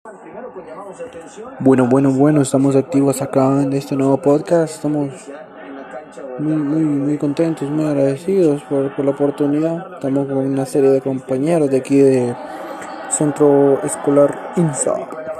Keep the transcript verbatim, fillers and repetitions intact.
Bueno, bueno, bueno, estamos activos acá en este nuevo podcast. Estamos muy, muy, muy contentos, muy agradecidos por, por la oportunidad. Estamos con una serie de compañeros de aquí de Centro Escolar INSA.